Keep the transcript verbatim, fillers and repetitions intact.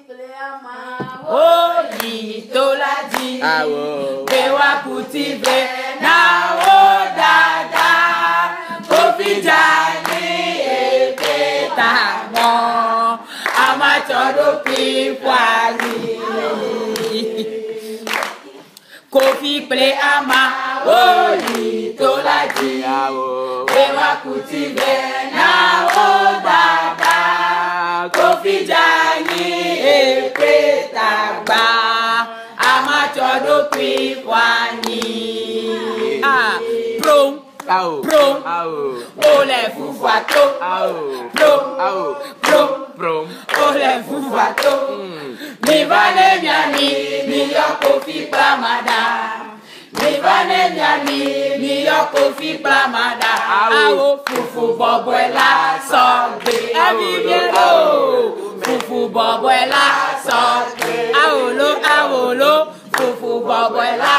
Oh, Yitolaji. Bewa Kutive. Na o dada. Kofi Jani epeta mo. Amatodo pipwani. Kofi play ama. Oh, Yitolaji. Bewa Kutive. Na o dada. Kofi Jani epeta gba. Amatodo pipwani. Ah, prom. Prom. Ole fufato. Prom. Prom. Prom. Ole fufato. Mi vale miami. Mi yoko fi plamada. Mi vale miami. Mi yoko fi plamada. Awo fufu boboela sogbe. Aviviero. Fufu boboela sogbe. Awolo awolo. Fufu boboela